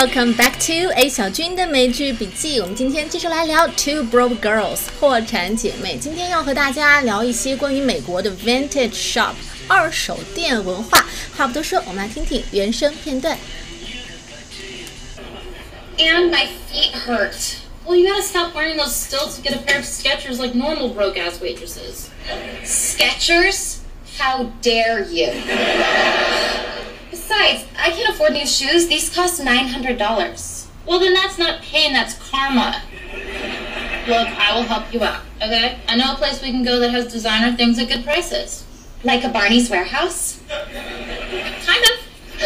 Welcome back to A 小军的美剧笔记。我们今天继续来聊 Two Broke Girls 破产姐妹。今天要和大家聊一些关于美国的 Vintage Shop 二手店文化。话不多说，我们来听听原声片段。 And my feet hurt. Well, you gotta stop wearing those stilts to get a pair of Skechers like normal broke-ass waitresses. Skechers? How dare you? Besides, I can't afford new shoes. These cost $900. Well, then that's not pain, that's karma. Look, I will help you out, okay? I know a place we can go that has designer things at good prices. Like a Barney's Warehouse? Kind of.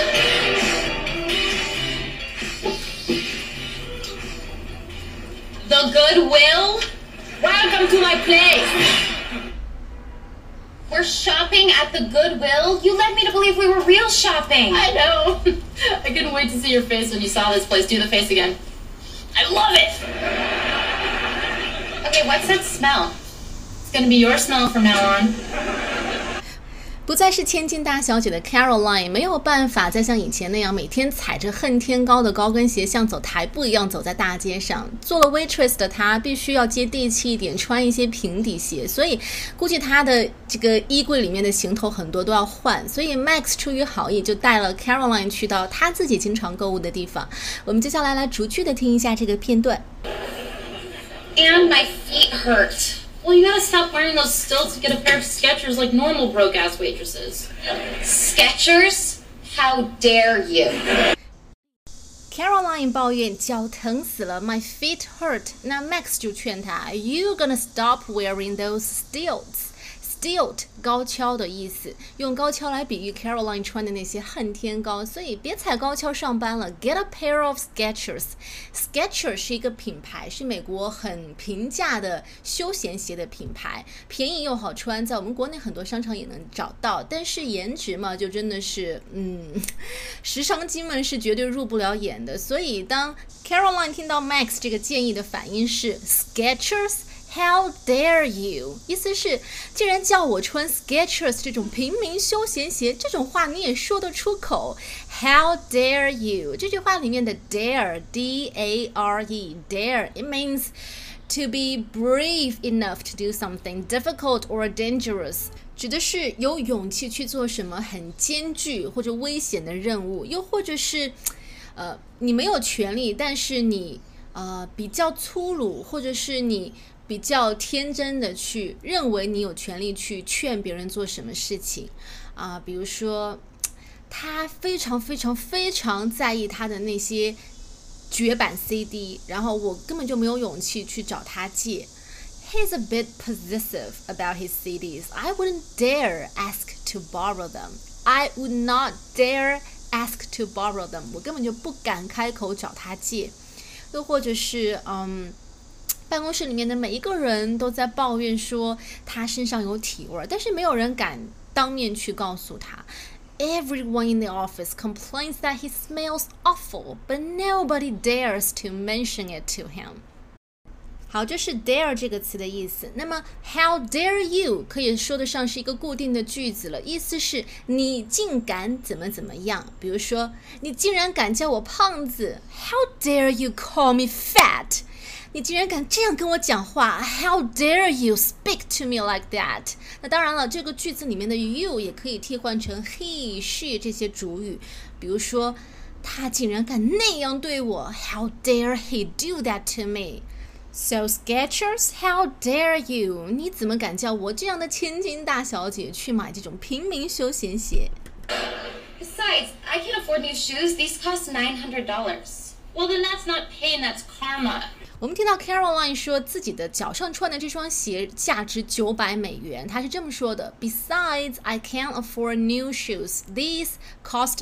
The Goodwill? Welcome to my place! We're shopping at the Goodwill? You led me to believe we were real shopping. I know. I couldn't wait to see your face when you saw this place. Do the face again. I love it! Okay, what's that smell? It's gonna be your smell from now on. 不再是千金大小姐的 Caroline 没有办法再像以前那样每天踩着恨天高的高跟鞋像走台步一样走在大街上。做了 waitress 的她必须要接地气一点，穿一些平底鞋，所以估计她的这个衣柜里面的行头很多都要换。所以 Max 出于好意就带了 Caroline 去到她自己经常购物的地方。我们接下来逐句的听一下这个片段。 And my feet hurt. Well, you gotta stop wearing those stilts to get a pair of Skechers like normal broke-ass waitresses. Skechers? How dare you? Caroline 抱怨脚疼死了 ，My feet hurt。那 Max 就劝她 ，You gonna stop wearing those stilts。Stilt 高跷的意思，用高跷来比喻 Caroline 穿的那些恨天高，所以别踩高跷上班了。Get a pair of Skechers。Skechers 是一个品牌，是美国很平价的休闲鞋的品牌，便宜又好穿，在我们国内很多商场也能找到。但是颜值嘛，就真的是，时尚精们是绝对入不了眼的。所以当 Caroline 听到 Max 这个建议的反应是 Skechers。How dare you？ 意思是，既然叫我穿 Skechers 这种平民休闲鞋，这种话你也说得出口 ？How dare you？ 这句话里面的 dare D-A-R-E dare it means to be brave enough to do something difficult or dangerous， 指的是有勇气去做什么很艰巨或者危险的任务，又或者是你没有权利，但是你比较粗鲁，或者是你比较天真的去认为你有权利去劝别人做什么事情比如说他非常非常非常在意他的那些绝版 CD， 然后我根本就没有勇气去找他借。He's a bit possessive about his CDs. I wouldn't dare ask to borrow them. I would not dare ask to borrow them. 我根本就不敢开口找他借。又或者是办公室里面的每一个人都在抱怨说他身上有体味，但是没有人敢当面去告诉他。Everyone in the office complains that he smells awful, but nobody dares to mention it to him. 好，这是 dare 这个词的意思。那么 how dare you 可以说得上是一个固定的句子了，意思是你竟敢怎么怎么样。比如说，你竟然敢叫我胖子 How dare you call me fat？ 你竟然敢这样跟我讲话 How dare you speak to me like that？ 那当然了，这个句子里面的 you 也可以替换成 he, she 这些主语。比如说，他竟然敢那样对我 How dare he do that to me？So Skechers, how dare you？ 你怎么敢叫我这样的千金大小姐去买这种平民休闲鞋 Besides, I can't afford new shoes. These cost $900. Well, then that's not pain, that's karma. 我们听到 Caroline 说自己的脚上穿的这双鞋价值$900，她是这么说的 Besides, I can't afford new shoes. These cost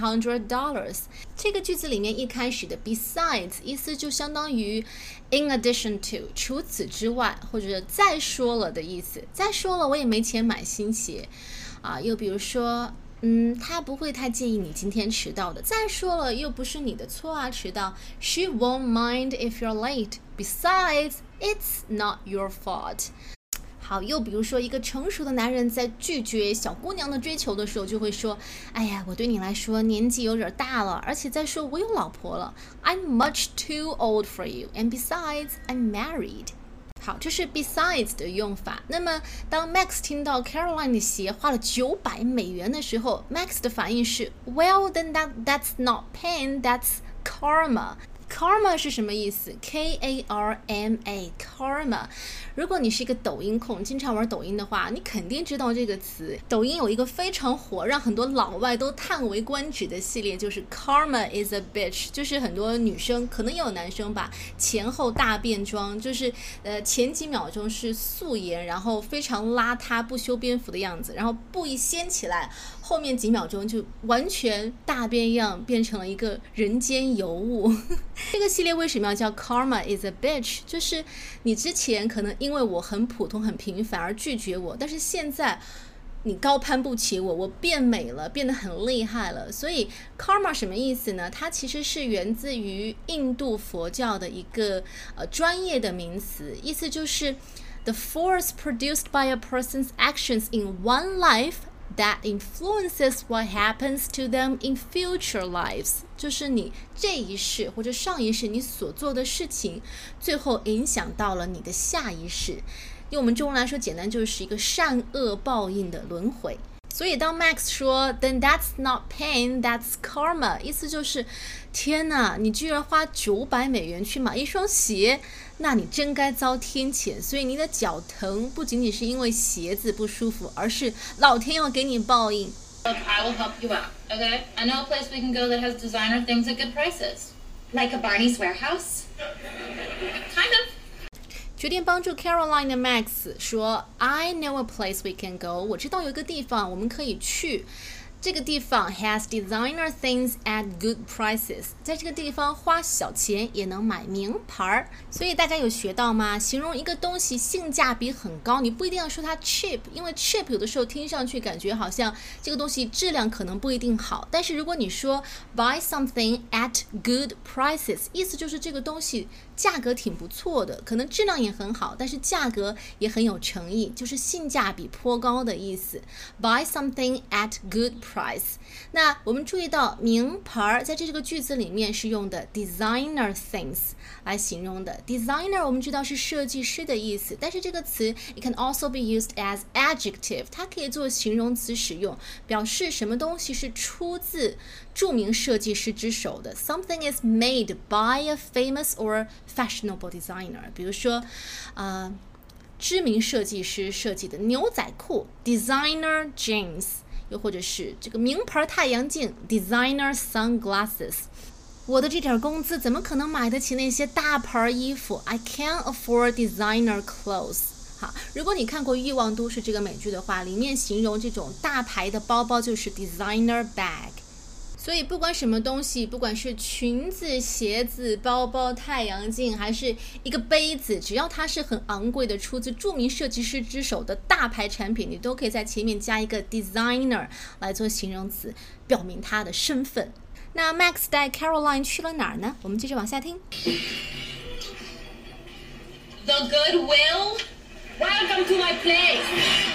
$900. 这个句子里面一开始的 besides 意思就相当于 in addition to 除此之外，或者再说了的意思。再说了我也没钱买新鞋又比如说他不会太介意你今天迟到的。再说了，又不是你的错迟到。She won't mind if you're late. Besides, it's not your fault. 好，又比如说一个成熟的男人在拒绝小姑娘的追求的时候，就会说，哎呀，我对你来说年纪有点大了，而且再说我有老婆了。I'm much too old for you, and besides, I'm married. 好，这是 besides 的用法。那么当 Max 听到 Caroline 的鞋花了$900的时候， Max 的反应是 Well, then that's not pain, that's karma.Karma 是什么意思 ？K-A-R-M-A Karma。如果你是一个抖音控，经常玩抖音的话，你肯定知道这个词。抖音有一个非常火，让很多老外都叹为观止的系列，就是 Karma is a bitch， 就是很多女生，可能也有男生吧，前后大变装，就是前几秒钟是素颜，然后非常邋遢不修边幅的样子，然后布一掀起来，后面几秒钟就完全大变样，变成了一个人间尤物。这个系列为什么要叫 Karma is a bitch？ 就是你之前可能因为我很普通很平凡而拒绝我，但是现在你高攀不起我，我变美了，变得很厉害了。所以 Karma 什么意思呢？它其实是源自于印度佛教的一个专业的名词，意思就是 the force produced by a person's actions in one life.That influences what happens to them in future lives， 就是你这一世或者上一世你所做的事情，最后影响到了你的下一世。用我们中文来说，简单就是一个善恶报应的轮回。所以当 Max 说 Then that's not pain, that's karma， 意思就是天哪，你居然花$900去买一双鞋，那你真该遭天谴。所以你的脚疼不仅仅是因为鞋子不舒服，而是老天要给你报应。 Look, I will help you out, okay? I know a place we can go that has designer things at good prices. Like a Barney's Warehouse? Kind of. 决定帮助 Caroline 的 Max 说 I know a place we can go， 我知道有一个地方我们可以去，这个地方 has designer things at good prices， 在这个地方花小钱也能买名牌。所以大家有学到吗？形容一个东西性价比很高，你不一定要说它 cheap， 因为 cheap 有的时候听上去感觉好像这个东西质量可能不一定好，但是如果你说 buy something at good prices， 意思就是这个东西价格挺不错的，可能质量也很好，但是价格也很有诚意，就是性价比颇高的意思。Buy something at good price。那我们注意到名牌在这个句子里面是用的 designer things 来形容的。Designer 我们知道是设计师的意思，但是这个词 it can also be used as adjective， 它可以做形容词使用，表示什么东西是出自著名设计师之手的。Something is made by a famous or fashionable designer， 比如说知名设计师设计的牛仔裤 designer jeans， 又或者是这个名牌太阳镜 designer sunglasses。 我的这点工资怎么可能买得起那些大牌衣服 I can't afford designer clothes。 好，如果你看过《欲望都市》这个美剧的话，里面形容这种大牌的包包就是 designer bag。所以不管什么东西，不管是裙子、鞋子、包包、太阳镜，还是一个杯子，只要它是很昂贵的出自著名设计师之手的大牌产品，你都可以在前面加一个 designer 来做形容词，表明它的身份。那 Max 带 Caroline 去了哪儿呢？我们接着往下听。 The Goodwill? Welcome to my place.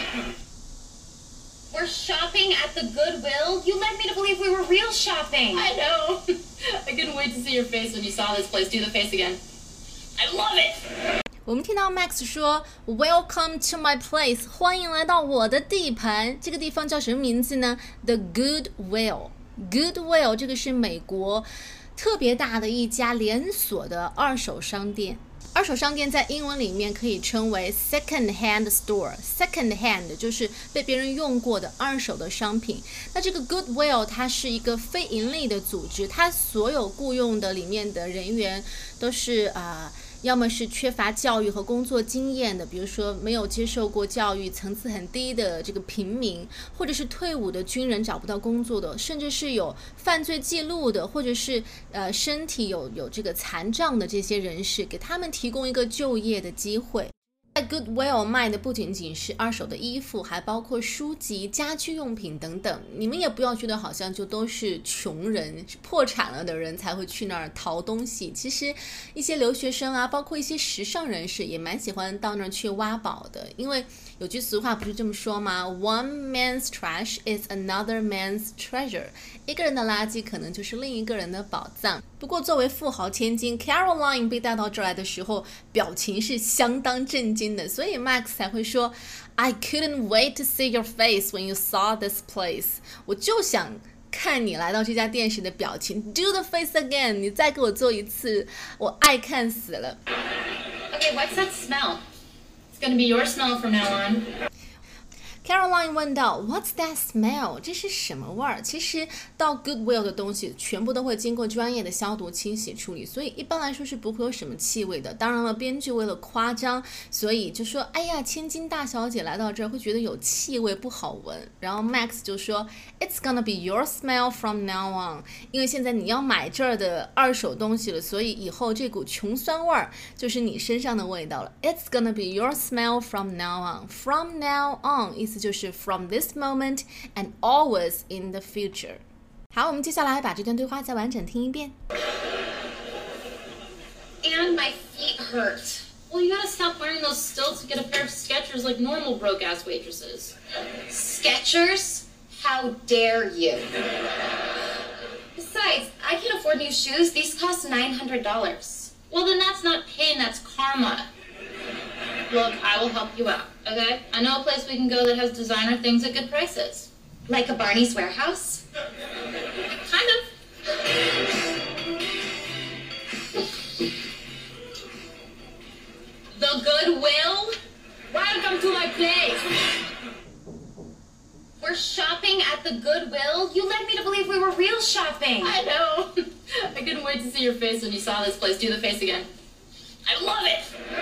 We're shopping at the Goodwill? You led me to believe we were real shopping. I know. I couldn't wait to see your face when you saw this place. Do the face again. I love it. 我们听到 Max 说 Welcome to my place， 欢迎来到我的地盘。这个地方叫什么名字呢？ The Goodwill。Goodwill 这个是美国特别大的一家连锁的二手商店。二手商店在英文里面可以称为 second hand store。second hand 就是被别人用过的二手的商品。那这个 Goodwill 它是一个非盈利的组织，它所有雇佣的里面的人员都是要么是缺乏教育和工作经验的，比如说没有接受过教育、层次很低的这个平民，或者是退伍的军人找不到工作的，甚至是有犯罪记录的，或者是身体有这个残障的这些人士，给他们提供一个就业的机会。 在 Goodwill 卖的不仅仅是二手的衣服，还包括书籍、家居用品等等。你们也不要觉得好像就都是穷人、破产了的人才会去那儿淘东西。其实一些留学生啊，包括一些时尚人士也蛮喜欢到那儿去挖宝的。因为有句俗话不是这么说吗？ One man's trash is another man's treasure。 一个人的垃圾可能就是另一个人的宝藏。不过作为富豪千金 Caroline 被带到这儿来的时候，表情是相当震惊的，所以 Max 才会说 I couldn't wait to see your face when you saw this place。 我就想看你来到这家店时的表情。 Do the face again， 你再给我做一次，我爱看死了。 Okay, what's that smell? It's gonna be your smell from now on. Caroline 问道 What's that smell？ 这是什么味儿？其实到 Goodwill 的东西全部都会经过专业的消毒清洗处理，所以一般来说是不会有什么气味的。当然了，编剧为了夸张，所以就说哎呀，千金大小姐来到这儿会觉得有气味不好闻。然后 Max 就说 It's gonna be your smell from now on， 因为现在你要买这儿的二手东西了，所以以后这股穷酸味儿就是你身上的味道了。 It's gonna be your smell from now on。 From now on 意思就是 from this moment and always in the future。 好，我们接下来把这段对话再完整听一遍。 And my feet hurt. Well, you gotta stop wearing those stilts to get a pair of Skechers like normal broke-ass waitresses. Skechers? How dare you? Besides, I can't afford new shoes. These cost $900. Well, then that's not pain, that's karma. Look, I will help you out, okay? I know a place we can go that has designer things at good prices. Like a Barney's Warehouse? Kind of. The Goodwill? Welcome to my place. We're shopping at the Goodwill? You led me to believe we were real shopping. I know. I couldn't wait to see your face when you saw this place. Do the face again. I love it.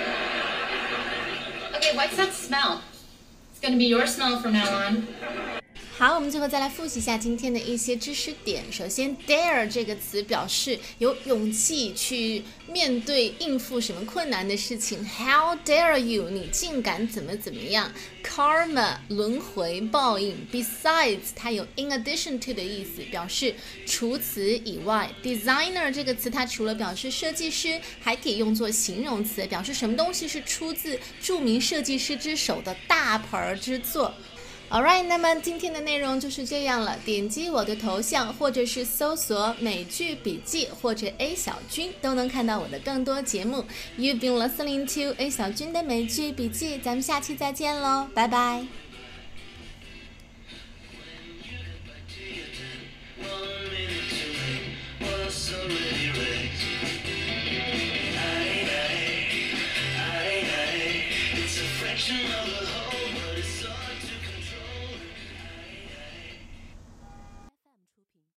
Okay, what's that smell? It's gonna be your smell from now on. 好，我们最后再来复习一下今天的一些知识点。首先 dare 这个词表示有勇气去面对应付什么困难的事情。 How dare you， 你竟敢怎么样。 Karma 轮回报应。 Besides 它有 in addition to 的意思，表示除此以外。 Designer 这个词它除了表示设计师，还可以用作形容词，表示什么东西是出自著名设计师之手的大牌之作。Alright， 那么今天的内容就是这样了。点击我的头像，或者是搜索美剧笔记或者 A 小军，都能看到我的更多节目。You've been listening to A 小军的美剧笔记，咱们下期再见喽，拜拜。 It's a fraction of the whole